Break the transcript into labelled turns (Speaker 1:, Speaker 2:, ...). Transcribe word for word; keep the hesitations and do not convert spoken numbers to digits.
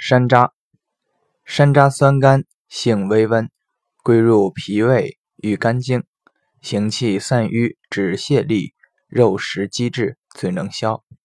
Speaker 1: 山楂。山楂酸甘，性微温，归入脾胃，与肝经，行气散瘀，止泻痢，肉食积滞，最能消。